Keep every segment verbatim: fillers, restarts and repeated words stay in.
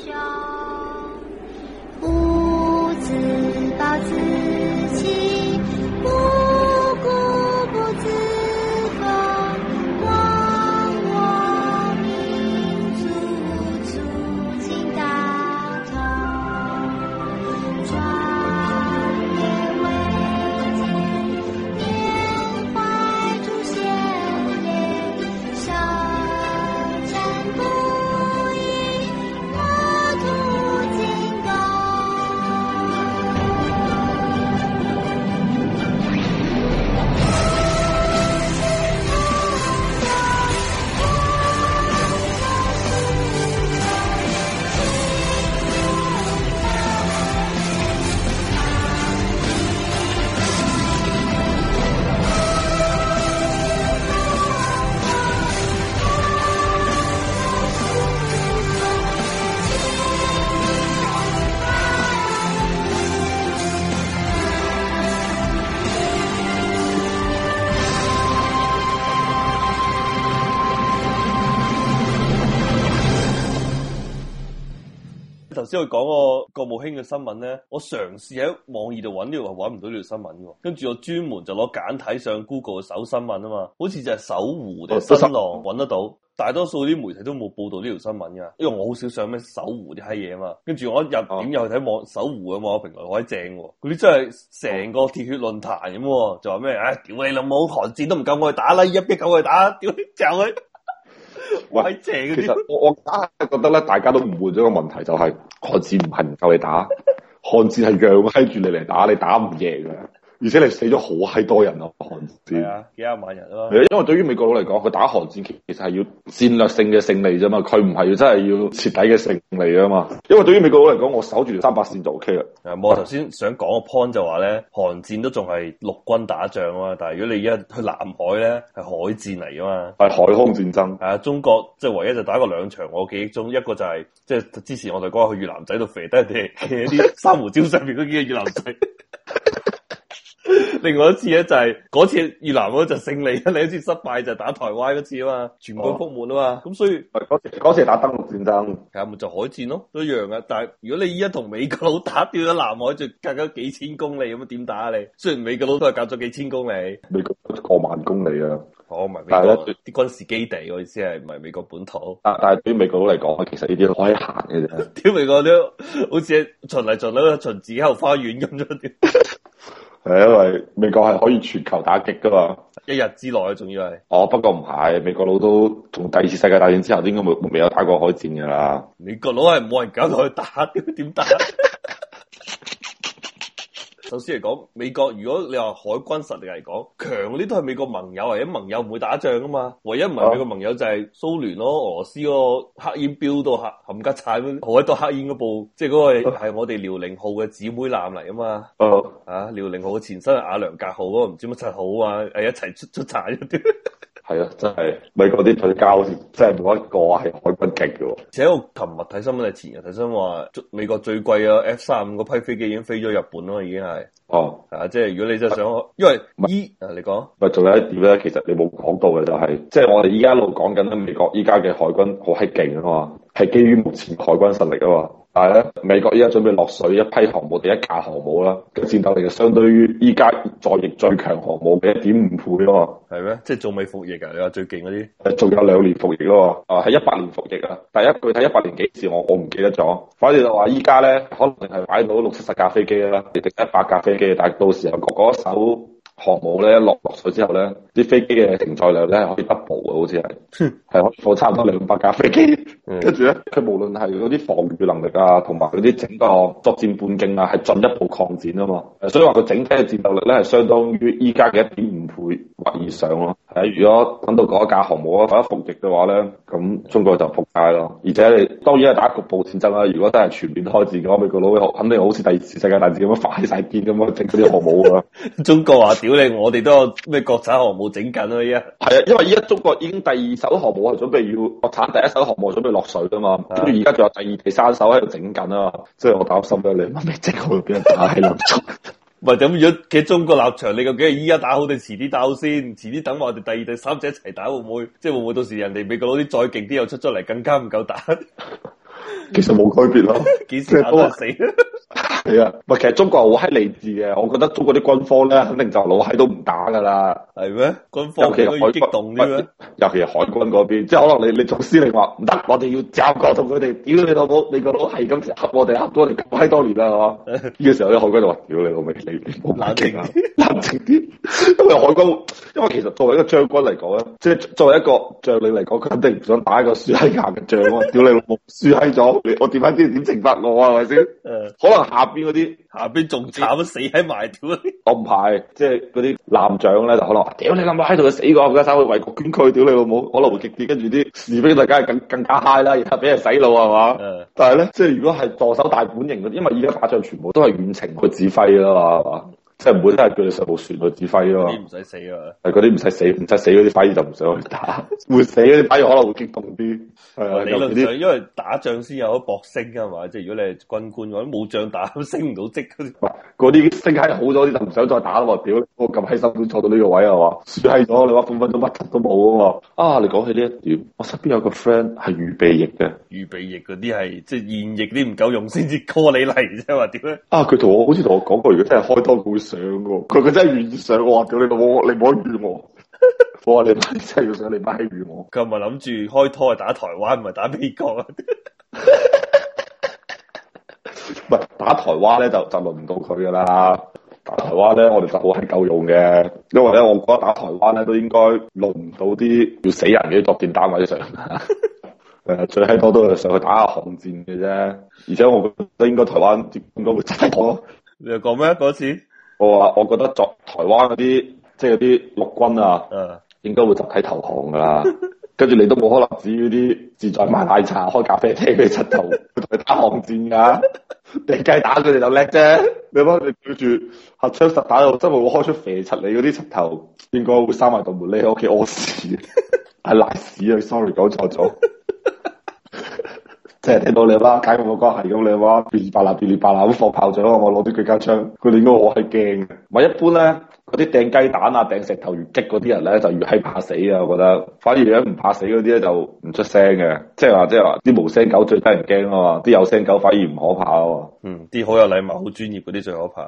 雄，不自暴自弃，不固不自封，忘我民族，促进大同，壮烈维艰，缅怀祖先烈，少战不已，国土进攻。 頭先我講個國務卿嘅新聞咧，我嘗試喺網易度揾呢個，揾唔到呢條新聞喎。跟住我專門就攞簡體上 Google 搜新聞啊嘛，好似就係搜狐定新浪揾得到。大多數啲媒體都冇報導呢條新聞噶，因為我好少上咩搜狐啲閪嘢啊嘛。跟住我一入點入去睇網搜狐嘅網絡評論，好閪正喎。嗰啲真係成個鐵血論壇咁喎，就話咩？唉、哎，屌你老母，韓戰都唔夠我去打啦，一逼夠我去打，屌你就佢。 喂，其實我我硬係覺得咧，大家都誤會咗個問題，就係韓戰唔係唔夠你打，韓戰係讓閪住你嚟打，你打唔贏嘅。而且你死咗好閪多人咯，韓戰係啊，幾廿萬人咯。 因為對於美國佬嚟講，佢打韓戰其實係要戰略性嘅勝利啫嘛，佢唔係要真係要徹底嘅勝利啊嘛。因為對於美國佬嚟講，我守住條三八線就 O K 啦。 誒，我頭先想講個 point 就話咧，韓戰都仲係陸軍打仗啊嘛，但係如果你一去南海咧，係海戰嚟噶嘛， 係海空戰爭。 係啊，中國即係唯一就打過兩場，我記憶中一個就係、是、即係之前我哋講去越南仔度肥低人哋嘅啲珊瑚礁上面嗰幾個越南仔。另外一次咧就係、是、嗰次越南嗰就勝利，另一次失敗就打台灣嗰次啊嘛，全軍覆沒啊嘛，咁、哦、所以嗰次嗰次係打登陸戰爭， 係啊，咪就海戰咯，都一樣嘅。但係如果你依家同美國佬打，掉咗南海就隔咗幾千公里咁樣點打啊你？雖然美國佬都係隔咗幾千公里， 美國過萬公里啊， 哦，唔係美國啲軍事基地，我意思係唔係美國本土。 但但係對於美國佬嚟講，其實呢啲都可以行嘅啫。 屌美國都好似巡嚟巡去巡自己後花園咁咗。 係因為美國係可以全球打擊噶嘛， 一日之內仲要係。 哦，不過唔係，美國佬都從第二次世界大戰之後，應該冇未有打過海戰噶啦。 美國佬係冇人搞到去打，點點打？首先嚟講，美國如果你話海軍實力嚟講，強嗰啲都係美國盟友，或者盟友唔會打仗噶嘛。唯一唔係美國盟友就係蘇聯咯，俄羅斯嗰個黑煙飆到冚冚家鏟，好閪多黑煙嗰部，即係嗰個係我哋遼寧號嘅姊妹艦嚟啊嘛。哦，啊，遼寧號嘅前身係瓦良格號嗰個唔知乜七號啊，係一齊出出產嗰啲。 係啊，真係美國啲退交真係冇一個係海軍勁嘅。而且我琴日睇新聞，係前日睇新聞話，美國最貴嘅 F 三十五嗰批飛機已經飛咗日本咯，已經係。哦，啊，即係如果你真係想，因為依啊，你講， 咪仲有一點咧，其實你冇講到嘅就係、是，即係我哋依家一路講緊咧，美國依家嘅海軍好閪勁啊嘛，係基於目前海軍實力啊嘛。但係咧，美國依家準備落水一批航母，第一架航母啦，嘅戰鬥力就相對於依家在役最強航母嘅一點五倍咯。 係咩？即係仲未服役啊？你話最勁嗰啲？ 誒，仲有兩年服役咯。啊，係一八年服役啊。第一具體一八年幾時我我唔記得咗。反正就話依家咧，可能係擺到六七十架飛機啦，定一百架飛機，但係到時候嗰嗰艘航母咧落落水之後咧，啲飛機嘅承載量咧係可以 double 嘅，好似係，係可以放差唔多兩百架飛機。跟住咧，佢無論係嗰啲防禦能力啊，同埋嗰啲整個作戰半徑啊，係進一步擴展啊嘛。所以話佢整體嘅戰鬥力咧係相當於依家嘅一點五倍或以上咯。係，如果等到嗰一架航母啊，或者服役嘅話咧，咁中國就仆街咯。而且你當然係打局部戰爭啦。如果真係全面開戰嘅話，美國佬肯定好似第二次世界大戰咁樣發晒癲咁樣整嗰啲航母噶。 中國話屌你，我哋都有咩國產航母整緊啊！依家係啊，因為依家中國已經第二艘航母係準備要國產，第一艘航母準備落水噶嘛，跟住而家仲有第二、第三艘喺度整緊啊！即係我擔心咧，你乜咩整好俾人打喺度做？ 唔係咁，如果企中國立場，你究竟係依家打好定遲啲打好先？遲啲等我哋第二、第三者一齊打會唔會？即係會唔會到時人哋美國佬啲再勁啲又出咗嚟，更加唔夠打？ 其實冇改變咯， 幾時打都係死。 係啊，唔係其實中國係好閪理智嘅，我覺得中國啲軍方咧肯定就老閪都唔打噶啦。 係咩？軍方尤其係海激動啲咩？ 尤其係海軍嗰邊，即係可能你你總司令話唔得，我哋要站過同佢哋，屌你老母，你個佬係咁恰我哋恰咗我哋咁閪多年啦，係嘛？呢個時候啲海軍就話：屌你老味，你你冇冷靜啊，冷靜啲。因為海軍，因為其實作為一個將軍嚟講咧，即係作為一個將領嚟講，佢肯定唔想打一個輸閪硬嘅仗啊！屌你老母，輸閪咗，我點解知點懲罰我啊？係咪先？誒，可能下邊嗰啲下邊仲慘，死喺埋屌！ 我唔係，即係嗰啲艦長咧，就可能屌你咁閪喺度，死過，而家走去為國捐軀，屌你老母，可能會激啲，跟住啲士兵就梗係更更加嗨啦，然後俾人洗腦係嘛？嗯、但係咧，即係如果係助手大本營嗰啲，因為而家打仗全部都係遠程去指揮啦嘛，係嘛？即係唔會真係叫你上部船去指揮啊嘛，嗰啲唔使死啊，係嗰啲唔使死，唔使死嗰啲反而就唔想去打，會死嗰啲反而可能會激動啲。係啊，理論上因為打仗先有得搏升㗎嘛，即係如果你係軍官嘅話，冇仗打都升唔到職嗰啲。嗰啲升閪好咗啲就唔想再打啦嘛，屌我咁閪辛苦坐到呢個位係嘛，輸閪咗你話分分鐘乜都冇啊嘛。啊，你講起呢一點，我身邊有個 friend 係預備役嘅，預備役嗰啲係即係現役啲唔夠用先至 call 你嚟啫嘛，點咧？啊，佢同我好似同我講過，如果真係開多會上嘅，佢佢真係願意上，我話屌你老母，你唔好預我。我話你媽真係要上，你媽閪預我。佢係咪諗住開拖係打台灣，唔係打美國啊？唔係打台灣咧，就就輪唔到佢噶啦。打台灣咧，我哋就好閪夠用嘅，因為咧，我覺得打台灣咧都應該輪唔到啲要死人嘅作戰單位上。誒，最閪多都係上去打下巷戰嘅啫。而且我覺得應該台灣應該會真係多。你又講咩嗰次？我話我覺得作台灣嗰啲即係嗰啲陸軍啊，嗯，應該會集體投降噶啦。跟住你都冇可能指嗰啲自在賣奶茶、開咖啡廳嗰啲柒頭去同佢打巷戰噶。你計打佢哋就叻啫。你諗你對住核槍實彈又真係會開出肥柒你嗰啲柒頭，應該會閂埋道門匿喺屋企屙屎，係賴屎啊 ！sorry 講錯咗。即係聽到你媽解我個關係咁，你媽噼里啪啦噼里啪啦咁放炮仗，我攞啲佢家槍，佢哋應該好係驚嘅。唔係一般咧，嗰啲掟雞蛋啊、掟石頭越激嗰啲人咧，就越係怕死啊！我覺得，反而咧唔怕死嗰啲咧就唔出聲嘅。即係話，即係話啲無聲狗最得人驚啊嘛，啲有聲狗反而唔可怕啊嘛。嗯，啲好有禮貌、好專業嗰啲最可怕。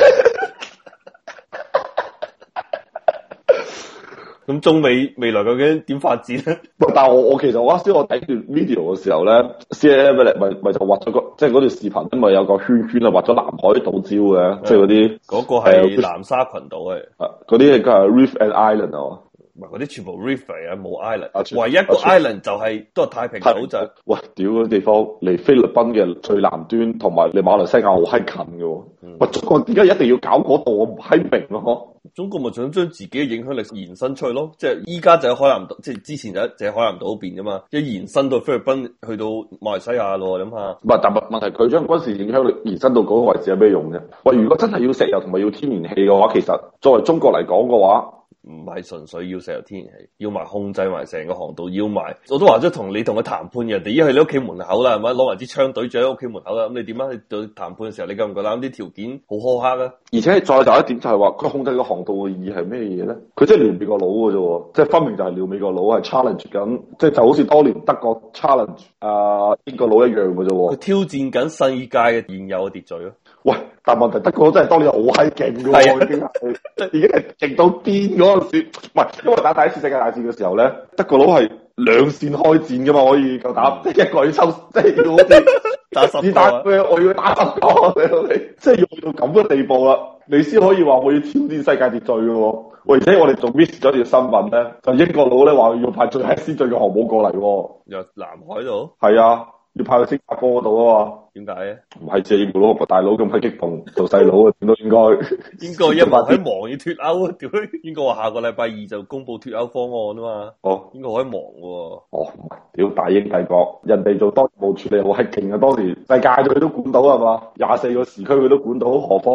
咁中美未來究竟點發展咧？但係我我其實我啱先我睇段 video 嘅時候咧，C N N 咪咪咪就畫咗個即係嗰段視頻，因為有個圈圈啊，畫咗南海島礁嘅，即係嗰啲嗰個係南沙群島係，嗰啲係 Reef and Island 啊。唔係嗰啲全部 reef 嚟啊，冇 island，唯一個 island 就係、是、都係太平島就係。喂，屌嗰啲地方離菲律賓嘅最南端同埋離馬來西亞好閪近嘅。喂、嗯，中國點解一定要搞嗰度？我唔閪明咯。中國咪想將自己嘅影響力延伸出去咯，即係依家就喺海南島，即係之前就喺就喺海南島嗰邊噶嘛，一延伸到菲律賓去到馬來西亞咯，諗下。唔係，但係問題佢將軍事影響力延伸到嗰個位置有咩用啫？喂，如果真係要石油同埋要天然氣嘅話，其實作為中國嚟講嘅話。唔係純粹要石油天然氣，要埋控制埋成個航道，要埋我都話咗同你同佢談判，人哋已經去你屋企門口啦，係咪？攞埋支槍對住喺屋企門口啦，咁你點啊？你對談判嘅時候，你夠唔夠膽？啲條件好苛刻啊！而且再大一點就係話，佢控制個航道嘅意義係咩嘢咧？佢即係撩美國佬嘅啫，即係分明就係撩美國佬，係 challenge 緊，即係就好似當年德國 challenge 啊英國佬一樣嘅啫。佢挑戰緊世界嘅現有嘅秩序咯。喂，但問題德國佬真係當年好閪勁嘅喎，已經係即係已經係勁到癲嗰陣時，唔係因為打第一次世界大戰嘅時候咧，德國佬係兩線開戰噶嘛，可以夠打，即係一個要抽，即係要好似打十子彈咩？我要打十個，即係要去到咁嘅地步啦，你先可以話我要挑戰世界秩序嘅喎。喂，而且我哋仲 miss 咗條新聞咧，就英國佬咧話要派最閪先進嘅航母過嚟，由南海度，係啊。要派去新加坡嗰度啊嘛？點解咧？唔係借英國佬個大佬咁閪激動，做細佬啊，點都應該。應該一忙喺忙要脫歐啊？屌！應該話下個禮拜二就公布脫歐方案啊嘛。哦，應該好閪忙喎。哦，屌大英帝國，人哋做當務處理好閪勁啊！當時世界佢都管到係嘛？廿四個時區佢都管到，何況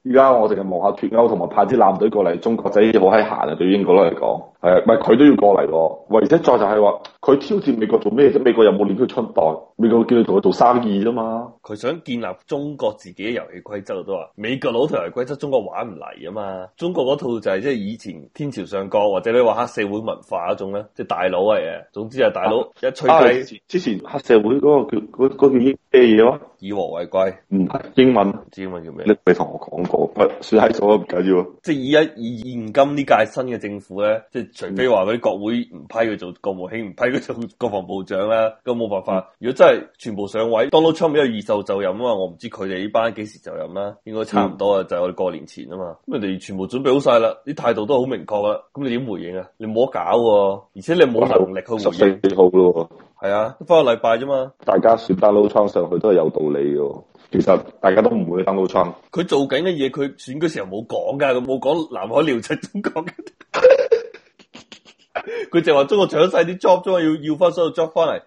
依家我淨係望下脫歐同埋派啲艦隊過嚟，中國仔好閪閒啊！對於英國佬嚟講，係啊，唔係佢都要過嚟喎。喂，而且再就係話，佢挑戰美國做咩啫？美國有冇練佢春袋？美國叫佢同佢做生意啫嘛。 佢想建立中國自己嘅遊戲規則都話，美國佬條遊戲規則中國玩唔嚟啊嘛。中國嗰套就係即係以前天朝上國或者你話黑社會文化嗰種咧，即係大佬嚟嘅。總之係大佬一吹雞、啊啊。之前黑社會嗰個叫嗰嗰叫咩嘢話？以和為貴。唔係英文，英文叫咩？你未同我講過，喂，算喺數都唔緊要。即係以一以現今呢屆新嘅政府咧，即係除非話嗰啲國會唔批佢做國務卿，唔批佢做國防部長啦，咁冇辦法。如果真係全部上位，Donald Trump有二受就任啊嘛，我唔知佢哋呢班幾時就任啦，應該差唔多啊，嗯、就係我哋過年前啊嘛。咁人哋全部準備好晒啦，啲態度都好明確啦。咁你點回應啊？你冇得搞喎，而且你冇能力去回應。十四號咯，係啊，翻個禮拜啫嘛。大家選 Donald Trump 上去都係有道理嘅。其實大家都唔會 Donald Trump。佢做緊嘅嘢，佢選嗰時候冇講噶，佢冇講南海撩柒中國嘅。佢就話中國搶晒啲 job 啫嘛，要要翻所有 job 翻嚟。